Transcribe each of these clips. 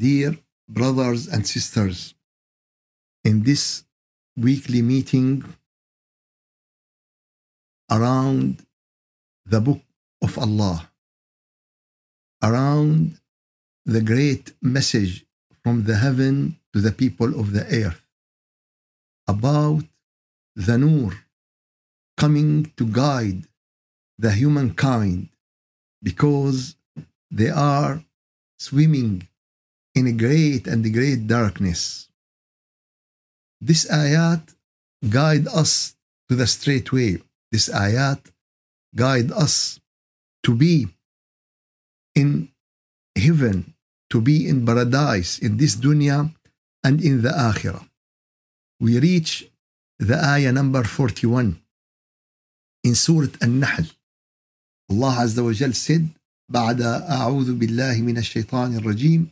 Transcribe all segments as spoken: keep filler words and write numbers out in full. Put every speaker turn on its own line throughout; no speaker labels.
Dear brothers and sisters, in this weekly meeting around the book of Allah, around the great message from the heaven to the people of the earth, about the Nur coming to guide the humankind because they are swimming in a great and great darkness. This ayat guide us to the straight way. This ayat guide us to be in heaven, to be in paradise, in this dunya and in the akhirah. We reach the ayah number forty-one in Surah An-Nahl. Allah Azza wa Jal said, بعد أعوذ بالله من الشيطان الرجيم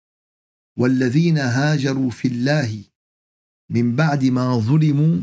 والذين هاجروا في الله من بعد ما ظلموا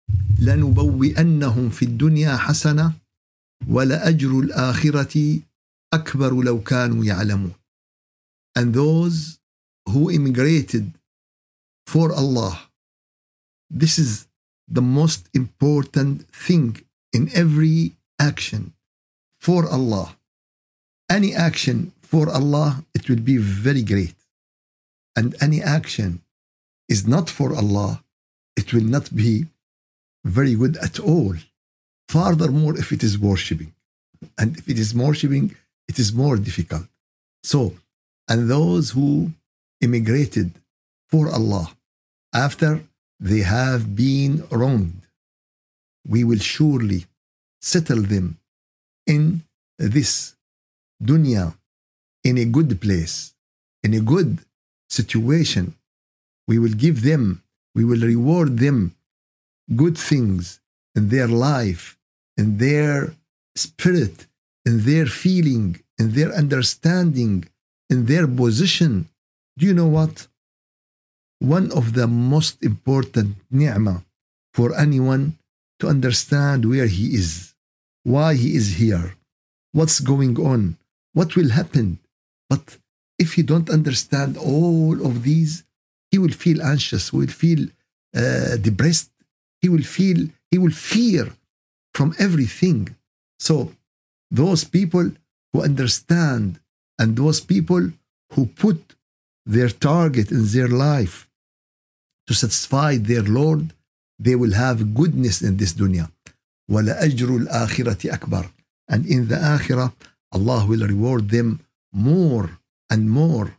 لنبوئنهم في الدنيا حسنة ولأجر الآخرة أكبر لو كانوا يعلمون. And those who immigrated for Allah, this is the most important thing in every action for Allah. Any action for Allah, it will be very great. And any action is not for Allah, it will not be very good at all. Furthermore, if it is worshipping. And if it is worshipping, it is more difficult. So, and those who immigrated for Allah after they have been wronged, we will surely settle them in this dunya, in a good place, in a good situation. We will give them, we will reward them good things in their life, in their spirit, in their feeling, in their understanding, in their position. Do you know what? One of the most important ni'mah for anyone to understand where he is, why he is here, what's going on, what will happen. But if he don't understand all of these, he will feel anxious, will feel uh, depressed, he will feel, he will fear from everything. So those people who understand and those people who put their target in their life to satisfy their Lord, they will have goodness in this dunya. وَلَأَجْرُ الْآخِرَةِ أَكْبَرُ. And in the akhirah, Allah will reward them more and more.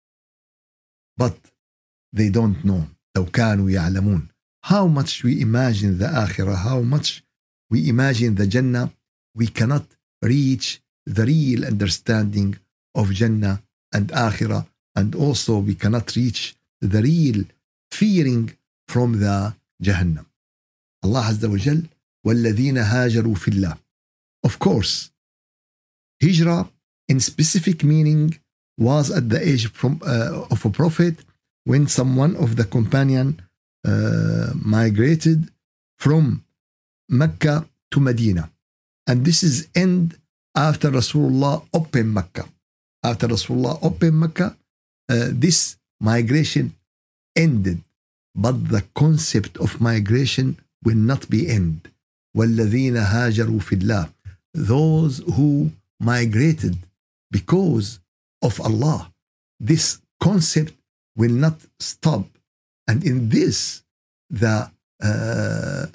But they don't know. لو كانوا يعلمون. How much we imagine the akhirah, how much we imagine the Jannah, we cannot reach the real understanding of Jannah and akhirah, and also we cannot reach the real fearing from the Jahannam. Allah Azza wa Jal, وَالَّذِينَ هَاجَرُوا فِي اللَّهِ. Of course, hijrah in specific meaning was at the age from, uh, of a prophet, when someone of the companion uh, migrated from Mecca to Medina. And this is end after Rasulullah opened Mecca. After Rasulullah opened Mecca, uh, this migration ended. But the concept of migration will not be end. وَالَّذِينَ هَاجَرُوا فِي اللَّهِ. Those who migrated because of Allah. This concept will not stop. And in this, the uh,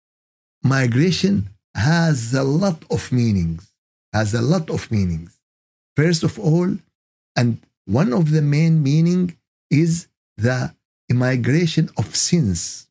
migration has a lot of meanings. Has a lot of meanings. First of all, and one of the main meaning is the migration of sins.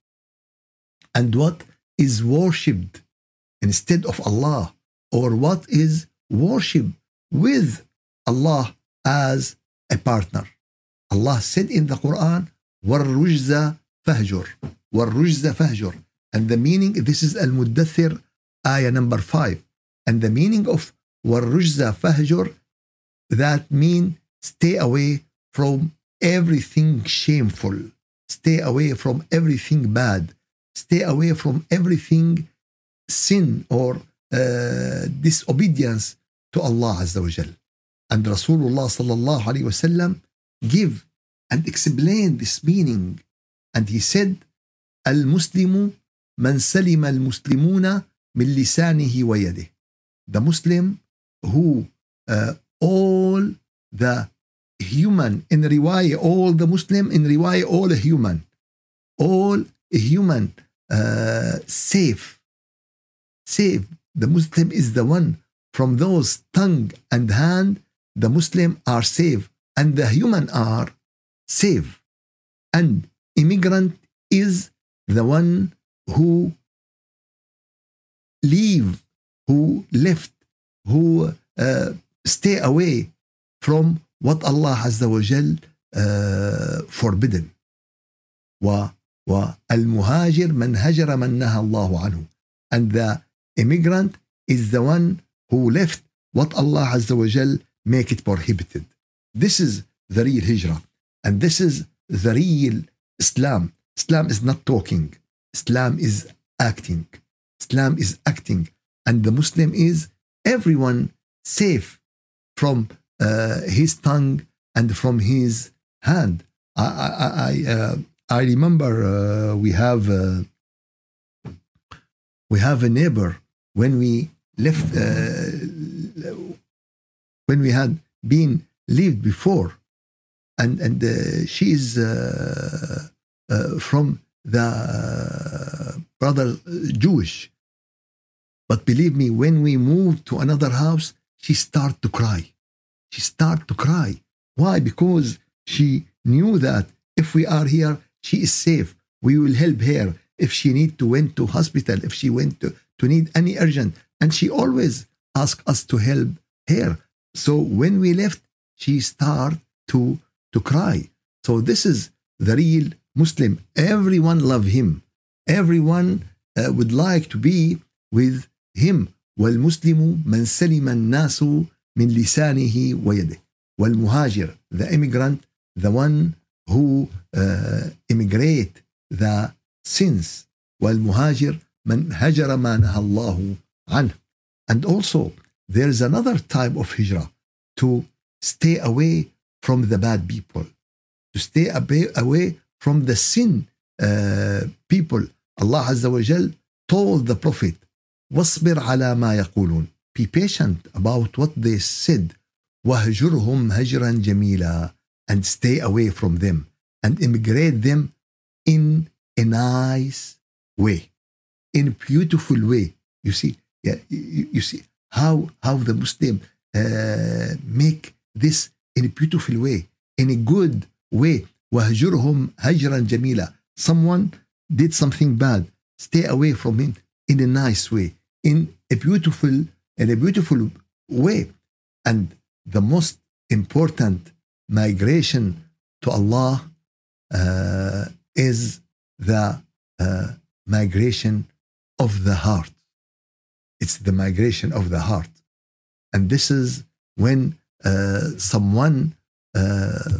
And what is worshipped instead of Allah, or what is worshipped with Allah as a partner. Allah said in the Quran, وَالرُّجْزَ فَهْجُرْ. وَالرُّجْزَ فَهْجُرْ. And the meaning, this is Al-Muddathir, ayah number five. And the meaning of وَالرُّجْزَ فَهْجُرْ, that mean stay away from everything shameful. Stay away from everything bad. Stay away from everything sin or uh, disobedience to Allah Azza wa Jal. And Rasulullah sallallahu alayhi wa sallam give and explained this meaning. And he said, المسلم من سلم المسلمون من لسانه ويده. The Muslim who uh, all the human in riwayah, all the Muslim in riwayah, all human, all human uh, safe, safe. The Muslim is the one from those tongue and hand. The Muslim are safe and the human are safe. And immigrant is the one who leave, who left, who uh, stay away from what Allah Azza wa Jal uh, forbidden. والمهاجر من هجر من نهى الله عنه. And the immigrant is the one who left what Allah Azza wa Jal make it prohibited. This is the real hijrah. And this is the real Islam. Islam is not talking. Islam is acting. Islam is acting. And the Muslim is everyone safe from uh, his tongue and from his hand. I I I, uh, I remember uh, we have uh, we have a neighbor when we left uh, when we had been lived before, and and uh, she is uh, uh, from the uh, brother Jewish. But believe me, when we moved to another house, she started to cry. She started to cry. Why? Because she knew that if we are here, she is safe. We will help her if she need to went to hospital, if she went to, to need any urgent. And she always asked us to help her. So when we left, she started to, to cry. So this is the real Muslim. Everyone love him. Everyone uh, would like to be with him. والمسلم من سلم الناس من لسانه ويده. والمهاجر, the immigrant, the one who uh, immigrate the sins. والمهاجر من هجر ما نهى الله عنه. And also there is another type of hijrah, to stay away from the bad people, to stay away from the sin uh, people. Allah Azza wa Jal told the Prophet, واصبر على ما يقولون, be patient about what they said, وهجرهم هجرا جميلا, and stay away from them and immigrate them in a nice way, in a beautiful way. You see, yeah, you, you see how how the Muslim uh, make this in a beautiful way, in a good way. وهجرهم هجرا جميلا. Someone did something bad, stay away from him in a nice way, in a beautiful, in a beautiful way. And the most important migration to Allah uh, is the uh, migration of the heart. It's the migration of the heart. And this is when uh, someone uh,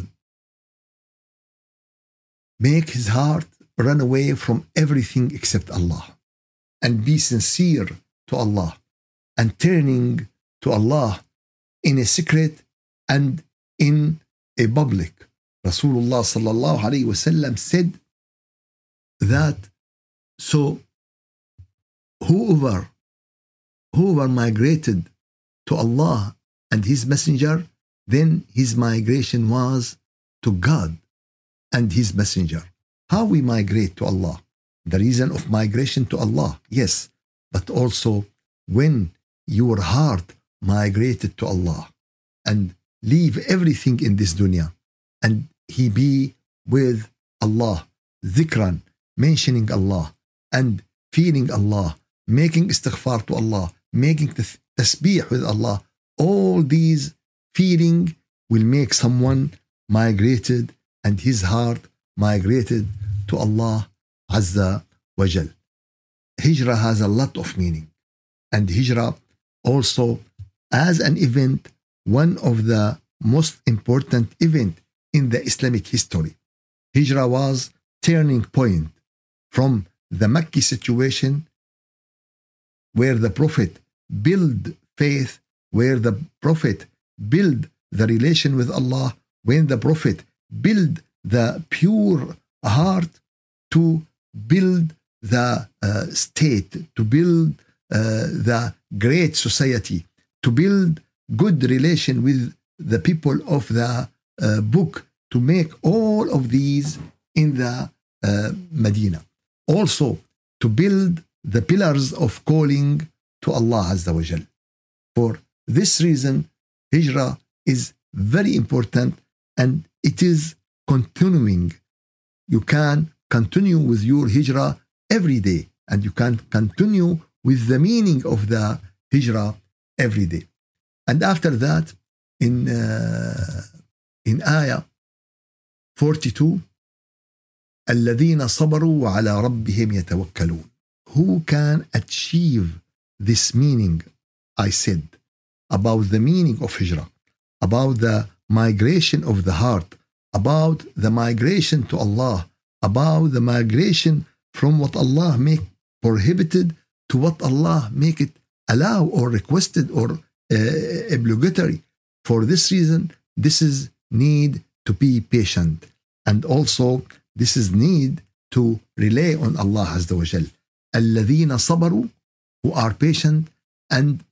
make his heart run away from everything except Allah, and be sincere to Allah, and turning to Allah in a secret and in a public. Rasulullah sallallahu alayhi wa sallam said that, so whoever whoever migrated to Allah and his messenger, then his migration was to God and his messenger. How we migrate to Allah? The reason of migration to Allah, yes, but also when your heart migrated to Allah and leave everything in this dunya and he be with Allah, dhikran, mentioning Allah and feeling Allah, making istighfar to Allah, making tasbih with Allah, all these feeling will make someone migrated and his heart migrated to Allah Azza wa Jal. Hijrah has a lot of meaning, and Hijrah also as an event, one of the most important event in the Islamic history. Hijrah was turning point from the Makki situation, where the Prophet built faith, where the Prophet built the relation with Allah, when the Prophet built the pure heart to build the uh, state, to build uh, the great society, to build good relation with the people of the uh, book, to make all of these in the uh, Medina. Also, to build the pillars of calling to Allah Azza wa Jal. For this reason, Hijrah is very important and it is continuing. You can continue with your Hijrah every day and you can continue with the meaning of the Hijrah every day. And after that, in, uh, in Ayah forty-two, الذين صبروا وعلى ربهم يتوكلون. Who can achieve this meaning I said about the meaning of Hijrah, about the migration of the heart, about the migration to Allah, about the migration from what Allah make prohibited to what Allah make it allow or requested or uh, obligatory. For this reason, this is need to be patient, and also this is need to rely on Allah Azza wa Jal. الذين صبروا, who are patient and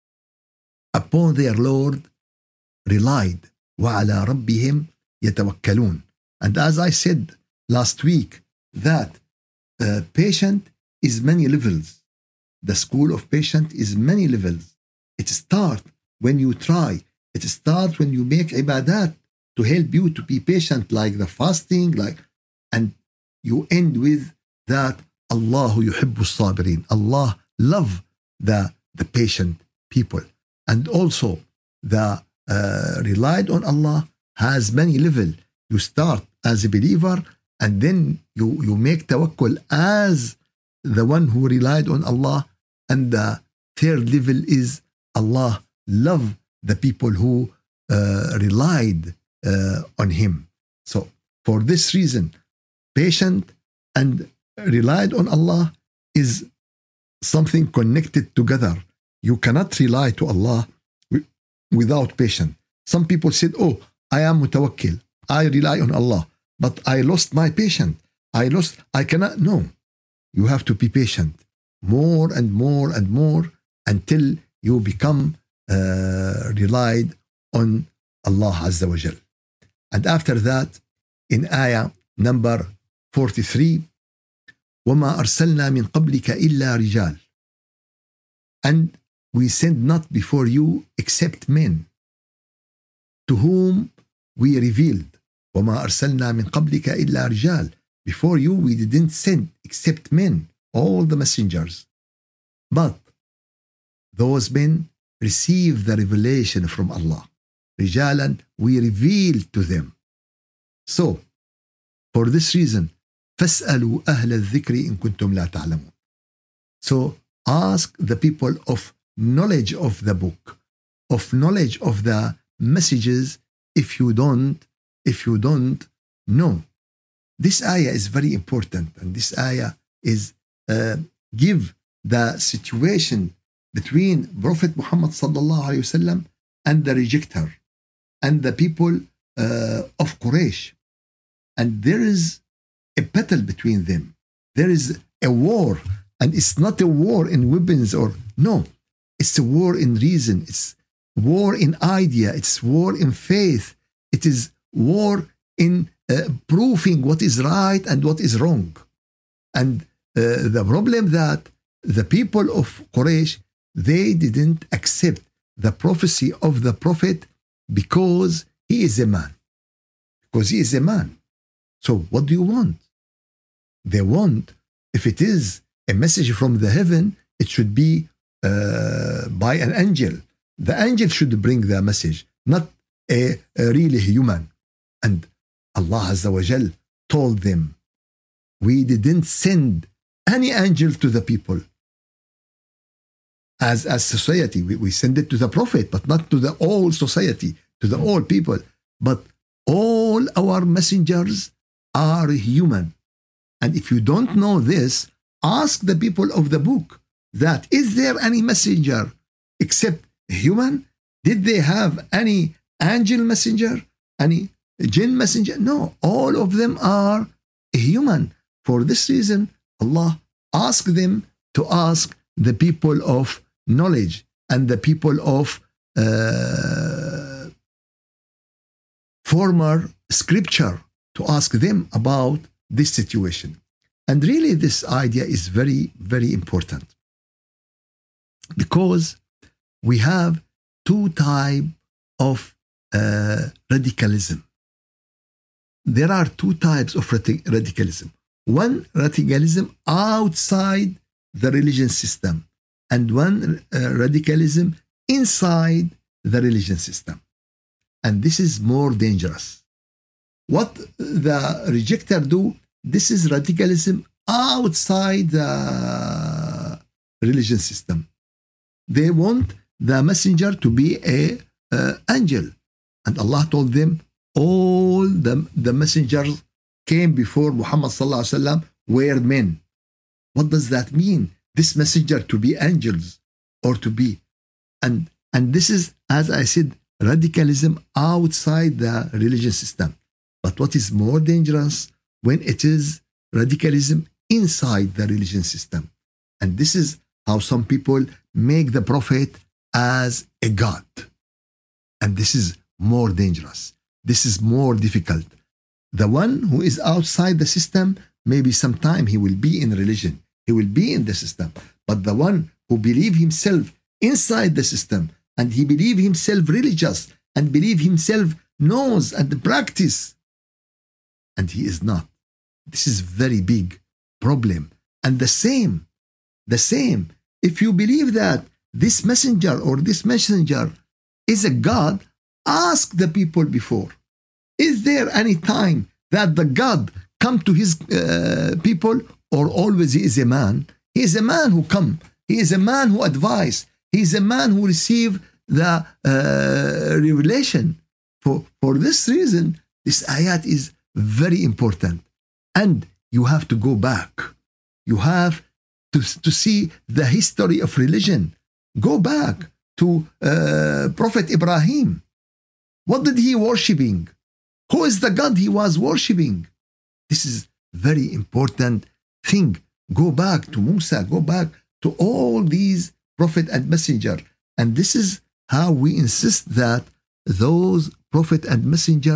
upon their Lord relied. وعلى ربهم يتوكلون. And as I said last week, that uh, patient is many levels. The school of patient is many levels. It starts when you try. It starts when you make ibadat to help you to be patient, like the fasting, like, and you end with that Allahu yuhibbu sabirin. Allah love the, the patient people. And also the uh, relied on Allah has many levels. You start as a believer and then you, you make tawakkul as the one who relied on Allah. And the third level is Allah love the people who uh, relied uh, on Him. So for this reason, patient and relied on Allah is something connected together. You cannot rely to Allah without patience. Some people said, oh, I am mutawakkil, I rely on Allah, but I lost my patience. I lost, I cannot. No, you have to be patient more and more and more until you become uh, relied on Allah Azza wa Jal. And after that, in ayah number forty-three, وَمَا أَرْسَلْنَا مِنْ قَبْلِكَ إِلَّا رِجَالٍ. And we send not before you except men, to whom we revealed. وَمَا أَرْسَلْنَا مِنْ قَبْلِكَ إِلَّا رِجَالٍ. Before you we didn't send except men, all the messengers. But those men receive the revelation from Allah. رِجَالًا, we revealed to them. So, for this reason, فَاسْأَلُوا أَهْلَ الذِّكْرِ إِن كُنتُمْ لَا تَعْلَمُونَ. So, ask the people of knowledge of the book, of knowledge of the messages, if you don't, if you don't know. This ayah is very important, and this ayah is uh, give the situation between Prophet Muhammad sallallahu alaihi wasallam and the rejecter and the people uh, of Quraysh. And there is a battle between them. There is a war, and it's not a war in weapons or no. It's a war in reason. It's war in idea. It's war in faith. It is war in uh, proving what is right and what is wrong. And uh, the problem that the people of Quraysh, they didn't accept the prophecy of the prophet because he is a man. Because he is a man. So what do you want? They want, if it is a message from the heaven, it should be uh, by an angel. The angel should bring the message, not a, a really human. And Allah Azza wa Jal told them, we didn't send any angel to the people. As as society, we, we send it to the prophet, but not to the whole society, to the whole people. But all our messengers are human. And if you don't know this, ask the people of the book that is there any messenger except human? Did they have any angel messenger? Any jinn messenger. No, all of them are human. For this reason, Allah asked them to ask the people of knowledge and the people of uh, former scripture to ask them about this situation. And really, this idea is very, very important, because we have two types of uh, radicalism. There are two types of radicalism. One, radicalism outside the religion system, and one uh, radicalism inside the religion system. And this is more dangerous. What the rejecter do, this is radicalism outside the religion system. They want the messenger to be a uh, angel. And Allah told them, all the, the messengers came before Muhammad sallallahu alaihi wasallam were men. What does that mean? This messenger to be angels or to be? And, and this is, as I said, radicalism outside the religion system. But what is more dangerous when it is radicalism inside the religion system? And this is how some people make the prophet as a god. And this is more dangerous. This is more difficult. The one who is outside the system, maybe sometime he will be in religion. He will be in the system. But the one who believes himself inside the system, and he believes himself religious, and believes himself knows and practice, and he is not. This is very big problem. And the same, the same, if you believe that this messenger or this messenger is a God, ask the people before. Is there any time that the God come to his uh, people, or always he is a man? He is a man who come. He is a man who advise. He is a man who receive the uh, revelation. For, for this reason, this ayat is very important. And you have to go back. You have to, to see the history of religion. Go back to uh, Prophet Ibrahim. What did he worshiping? Who is the God he was worshiping? This is very important thing. Go back to Musa. Go back to all these prophet and messenger. And this is how we insist that those prophet and messenger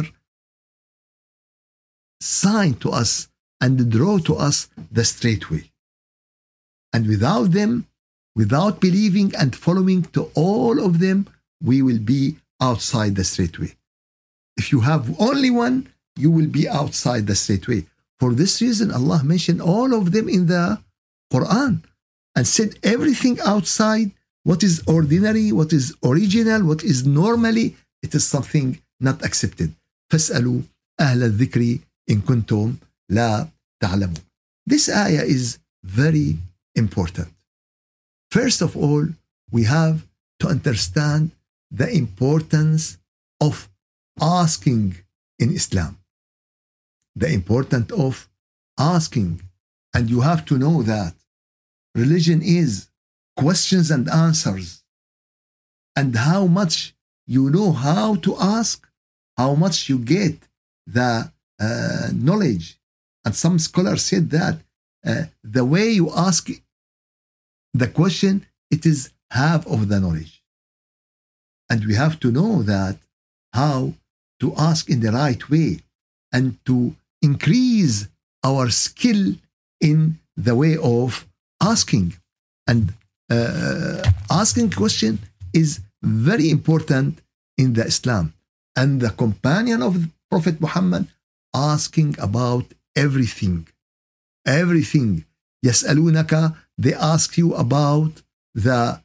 sign to us and draw to us the straight way. And without them, without believing and following to all of them, we will be outside the straight way. If you have only one, you will be outside the straight way. For this reason, Allah mentioned all of them in the Quran and said everything outside, what is ordinary, what is original, what is normally, it is something not accepted. فَاسْأَلُوا أَهْلَ الذِّكْرِ إِن كُنْتُمْ لَا تَعْلَمُونَ. This ayah is very important. First of all, we have to understand the importance of asking in Islam. The importance of asking. And you have to know that religion is questions and answers. And how much you know how to ask, how much you get the uh, knowledge. And some scholars said that uh, the way you ask the question, it is half of the knowledge. And we have to know that how to ask in the right way and to increase our skill in the way of asking. And uh, asking question is very important in the Islam. And the companion of Prophet Muhammad asking about everything. Everything. يسألونك, they ask you about the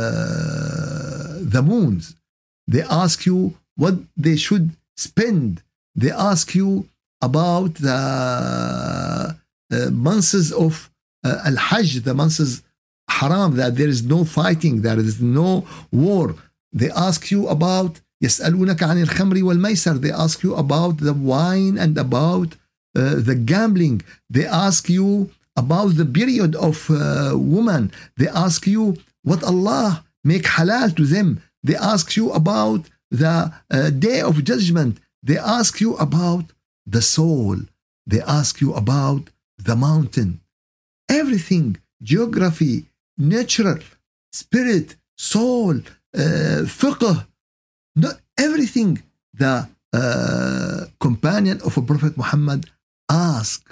uh, the moons. They ask you what they should spend. They ask you about the uh, months of uh, Al-Hajj, the months haram, that there is no fighting, there is no war. They ask you about يسألونك عن الخمر والميسر. They ask you about the wine and about uh, the gambling. They ask you about the period of uh, woman. They ask you what Allah make halal to them. They ask you about the uh, day of judgment. They ask you about the soul. They ask you about the mountain. Everything, geography, natural, spirit, soul, uh, fiqh, no, everything the uh, companion of a Prophet Muhammad ask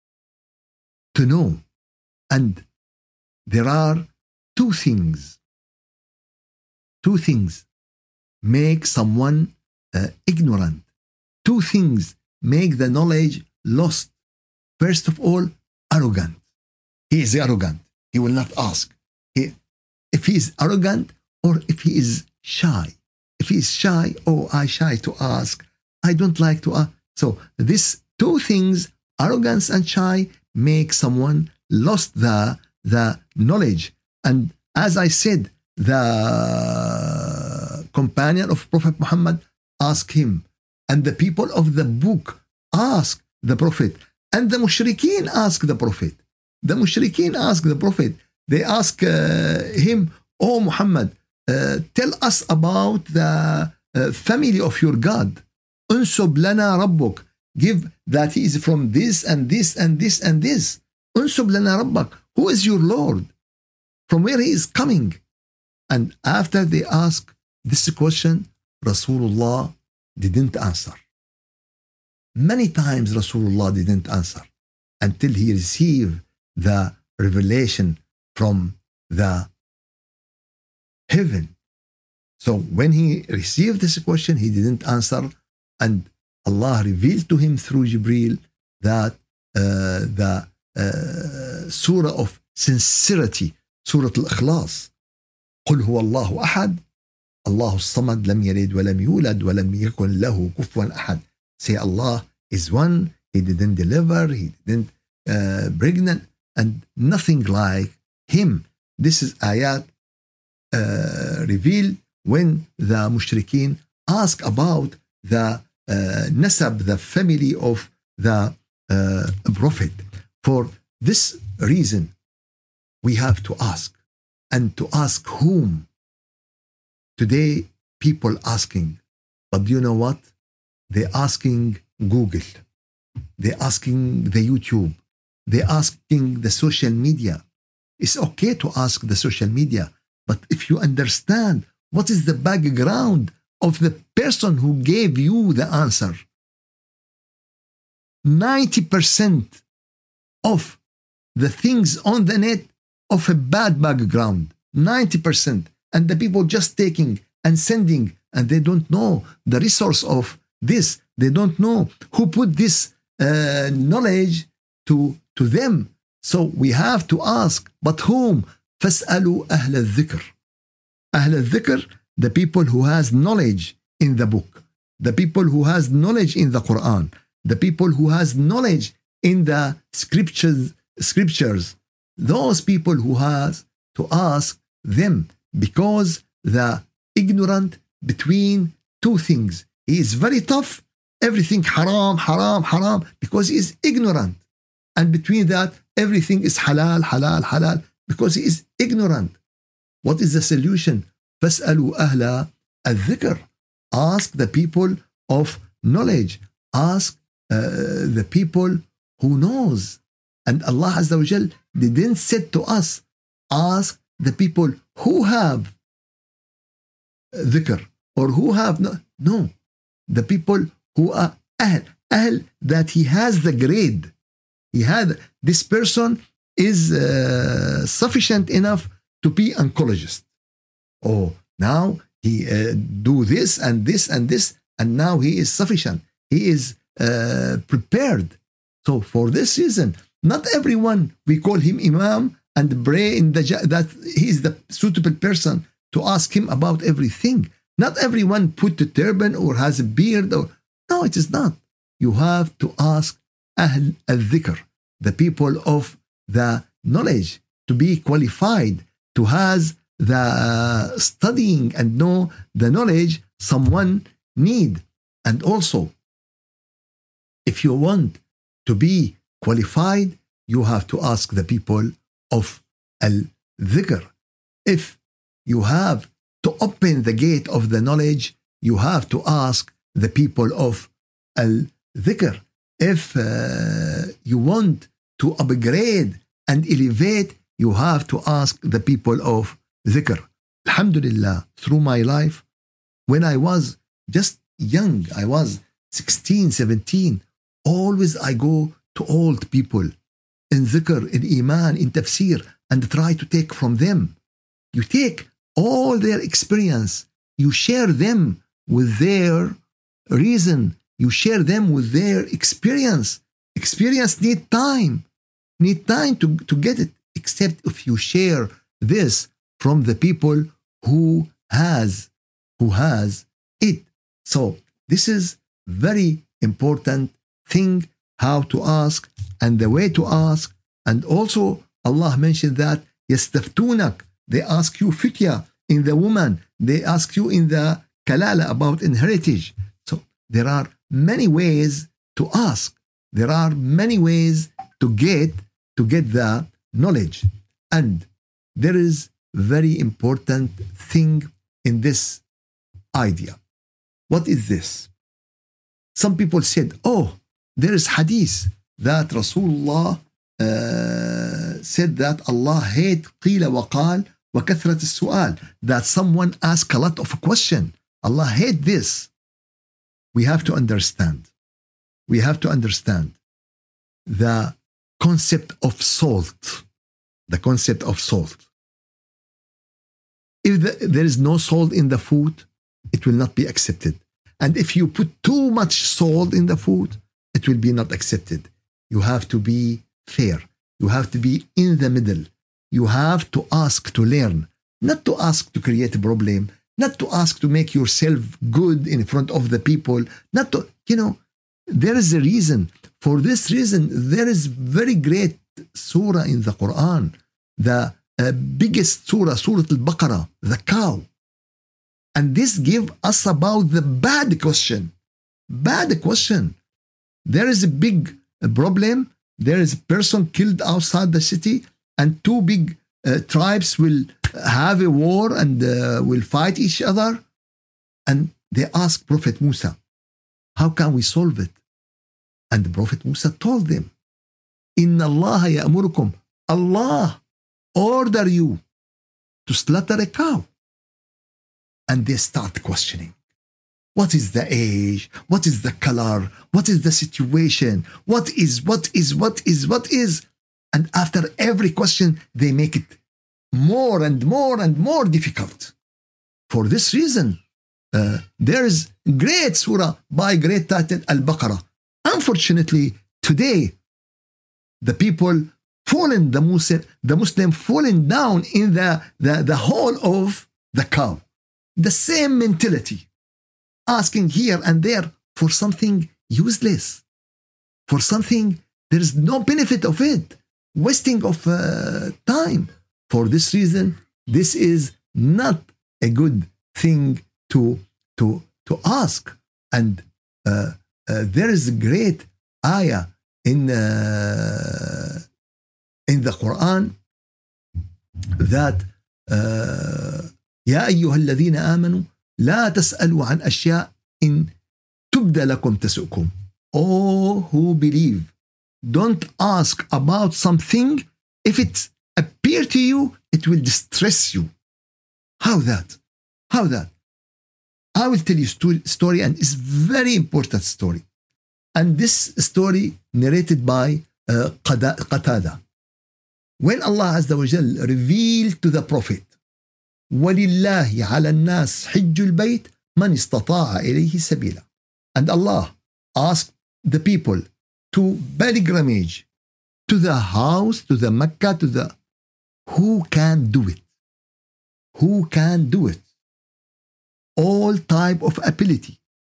to know. And there are two things, two things make someone uh, ignorant. Two things make the knowledge lost. First of all, arrogant. He is arrogant. He will not ask. He, if he is arrogant or if he is shy. If he is shy, oh, I shy to ask. I don't like to ask. So these two things, arrogance and shy, make someone lost the, the knowledge. And as I said, the companion of Prophet Muhammad asked him, and the people of the book ask the Prophet, and the mushrikeen ask the Prophet. The mushrikeen ask the Prophet. They ask uh, him, oh Muhammad, uh, tell us about the uh, family of your God. Unsub lana rabbuk. Give that he is from this and this and this and this. Unsub lana rabbak. Who is your Lord? From where he is coming? And after they ask this question, Rasulullah didn't answer. Many times Rasulullah didn't answer until he received the revelation from the heaven. So when he received this question, he didn't answer, and Allah revealed to him through Jibreel that uh, the uh, surah of sincerity, Surah Al-Ikhlas. قل هو الله أحد الله الصمد لم يلد ولم يولد ولم يكن له كفوا أحد. Say Allah is one, he didn't deliver, he didn't uh, pregnant, and nothing like him. This is ayat uh, revealed when the mushrikeen ask about the uh, nasab, the family of the uh, prophet. For this reason, we have to ask, and to ask whom. Today, people asking, but do you know what? They're asking Google. They're asking the YouTube. They're asking the social media. It's okay to ask the social media, but if you understand what is the background of the person who gave you the answer, ninety percent of the things on the net of a bad background, ninety percent, and the people just taking and sending, and they don't know the resource of this. They don't know who put this uh, knowledge to, to them. So we have to ask, but whom? فَاسْأَلُوا أَهْلَ الذِّكْرِ. أهل الذكر, the people who has knowledge in the book, the people who has knowledge in the Quran, the people who has knowledge in the scriptures, scriptures, those people who has to ask them, because the ignorant between two things. He is very tough, everything haram, haram, haram, because he is ignorant. And between that, everything is halal, halal, halal, because he is ignorant. What is the solution? فَاسْأَلُوا أَهْلَ الذِّكْرِ. Ask the people of knowledge. Ask uh, the people who knows. And Allah Azza wa Jal didn't say to us, ask the people who have dhikr or who have no. No. The people who are ahl, ahl, that he has the grade. He had, this person is uh, sufficient enough to be oncologist. Oh, now he uh, do this and this and this, and now he is sufficient. He is uh, prepared. So for this reason, not everyone, we call him imam and pray in the that he is the suitable person to ask him about everything. Not everyone put the turban or has a beard. Or no, it is not. You have to ask Ahl al-Dhikr, the people of the knowledge, to be qualified, to has the studying and know the knowledge someone need. And also, if you want to be qualified, you have to ask the people of al-Dhikr. If you have to open the gate of the knowledge, you have to ask the people of al-dhikr. If uh, you want to upgrade and elevate, you have to ask the people of dhikr. Alhamdulillah, through my life, when I was just young, I was sixteen, seventeen, always I go to old people in dhikr, in iman, in tafsir, and try to take from them. You take all their experience, you share them with their reason, you share them with their experience. Experience need time, need time to, to get it, except if you share this from the people who has, who has it. So this is very important thing, how to ask and the way to ask. And also Allah mentioned that يستفتونك, they ask you fitya in the woman, they ask you in the kalala about inheritance. So there are many ways to ask, there are many ways to get to get the knowledge. And there is very important thing in this idea. What is this? Some people said, oh, there is hadith that Rasulullah uh, said that Allah hate قيل وقال وكثرة السؤال, that someone ask a lot of question. Allah hate this. We have to understand. We have to understand the concept of salt. The concept of salt. If the, there is no salt in the food, it will not be accepted. And if you put too much salt in the food, it will be not accepted. You have to be fair. You have to be in the middle. You have to ask to learn, not to ask to create a problem, not to ask to make yourself good in front of the people, not to, you know, there is a reason. For this reason, there is very great surah in the Quran, the uh, biggest surah, Surah Al-Baqarah, the cow. And this give us about the bad question. Bad question. There is a big problem. There is a person killed outside the city, and two big uh, tribes will have a war and uh, will fight each other. And they ask Prophet Musa, how can we solve it? And the Prophet Musa told them, Inna Allah ya'murukum, Allah order you to slaughter a cow. And they start questioning. What is the age? What is the color? What is the situation? What is, what is, what is, what is? And after every question, they make it more and more and more difficult. For this reason, uh, there is great surah by great title Al-Baqarah. Unfortunately, today, the people fallen, the Muslim, the Muslim fallen down in the, the, the hole of the cow. The same mentality, asking here and there for something useless, for something there is no benefit of it, wasting of uh, time. For this reason, this is not a good thing to to to ask. And uh, uh, there is a great ayah in uh, in the Quran that. Uh, يا أيها الذين آمنوا لا تسألوا عن أشياء إن تبدأ لكم تسؤكم. All who believe, don't ask about something. If it appear to you, it will distress you. How that? How that? I will tell you a story, and it's very important story. And this story narrated by uh, Qatada. When Allah Azza wa Jal revealed to the Prophet, وَلِلَّهِ عَلَى النَّاسِ حِجُّ الْبَيْتِ مَنِ اسْتَطَاعَ إِلَيْهِ سَبِيلًا. And Allah asked the people to pilgrimage to the house, to the Mecca, to the... Who can do it? Who can do it? All type of ability.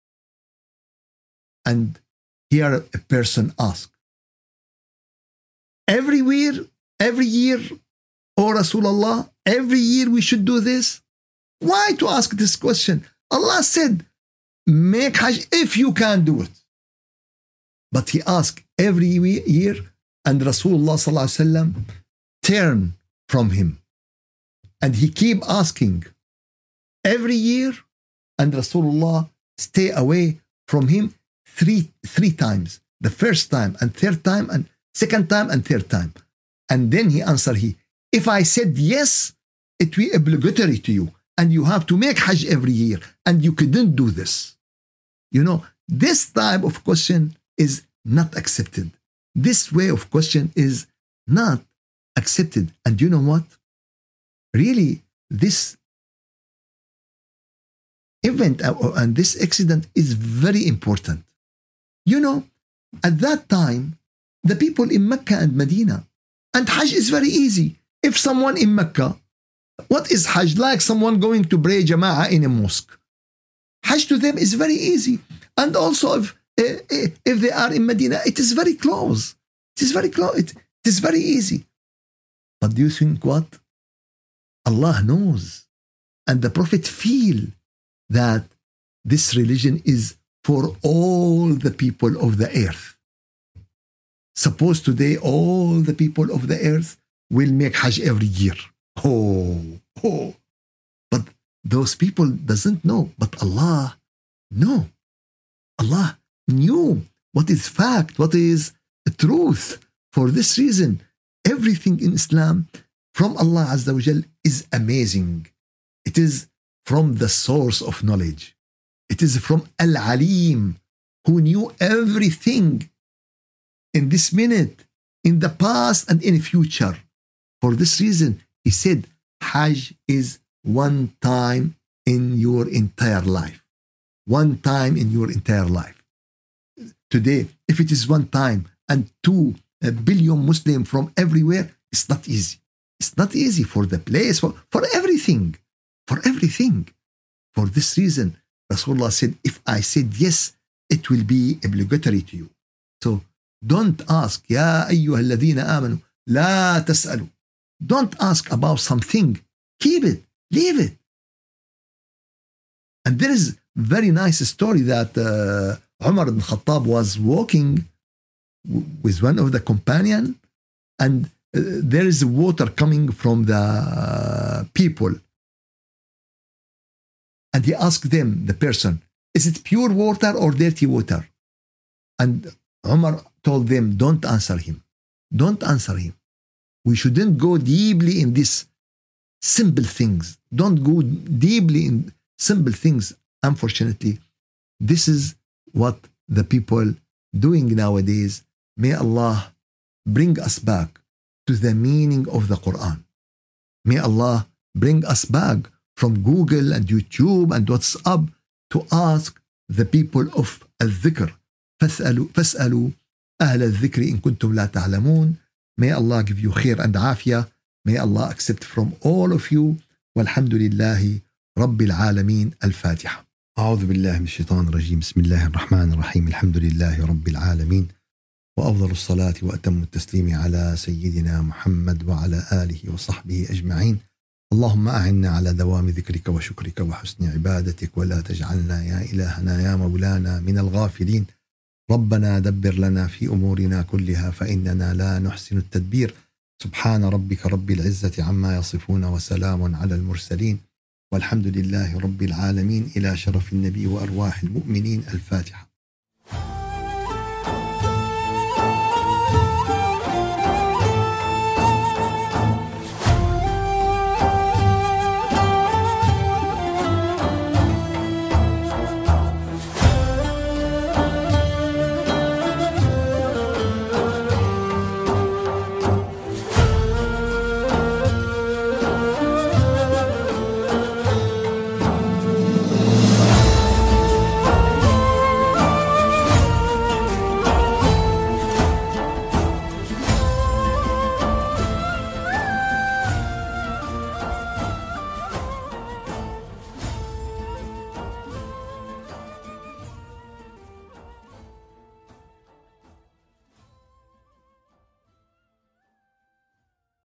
And here a person asked, everywhere, every year, O Rasulullah, every year we should do this? Why to ask this question? Allah said, make Hajj if you can do it. But he asked every year, and Rasulullah sallallahu alaihi wasallam turned from him. And he keep asking every year, and Rasulullah stay away from him, three three times. The first time and third time and second time and third time. And then he answered, he, if I said yes, it will be obligatory to you. And you have to make Hajj every year. And you couldn't do this. You know, this type of question is not accepted. This way of question is not accepted. And you know what? Really, this event and this accident is very important. You know, at that time, the people in Mecca and Medina, and Hajj is very easy. If someone in Mecca, what is Hajj? Like someone going to pray Jama'ah in a mosque. Hajj to them is very easy. And also if, if they are in Medina, it is very close. It is very close. It, it is very easy. But do you think what? Allah knows. And the Prophet feel that this religion is for all the people of the earth. Suppose today all the people of the earth will make Hajj every year. Oh, oh. But those people doesn't know. But Allah, no. Allah knew what is fact, what is truth. For this reason, everything in Islam from Allah Azza wa Jal is amazing. It is from the source of knowledge. It is from Al-Alim, who knew everything in this minute, in the past and in the future. For this reason, he said, Hajj is one time in your entire life. One time in your entire life. Today, if it is one time and two billion Muslims from everywhere, it's not easy. It's not easy for the place, for, for everything. For everything. For this reason, Rasulullah said, if I said yes, it will be obligatory to you. So don't ask, Ya ayyuha alladhina amanu, la tas'alu. Don't ask about something. Keep it. Leave it. And there is very nice story that uh, Umar ibn Khattab was walking w- with one of the companion, and uh, there is water coming from the uh, people. And he asked them, the person, is it pure water or dirty water? And Umar told them, don't answer him. Don't answer him. We shouldn't go deeply in these simple things. Don't go deeply in simple things. Unfortunately, this is what the people doing nowadays. May Allah bring us back to the meaning of the Quran. May Allah bring us back from Google and YouTube and WhatsApp to ask the people of al-dhikr. فاسألوا فاسألوا أهل الذكر إن كنتم لا تعلمون. May Allah give you khair and afiyah. May Allah accept from all of you. والحمد لله رب العالمين. الفاتحة. أعوذ بالله من الشيطان الرجيم. بسم الله الرحمن الرحيم. الحمد لله رب العالمين. وأفضل الصلاة وأتم التسليم على سيدنا محمد وعلى آله وصحبه أجمعين. اللهم أعنا على دوام ذكرك وشكرك وحسن عبادتك ولا تجعلنا يا إلهنا يا مولانا من الغافلين. ربنا دبر لنا في أمورنا كلها فإننا لا نحسن التدبير. سبحان ربك رب العزة عما يصفون وسلام على المرسلين والحمد لله رب العالمين. إلى شرف النبي وأرواح المؤمنين. الفاتحة.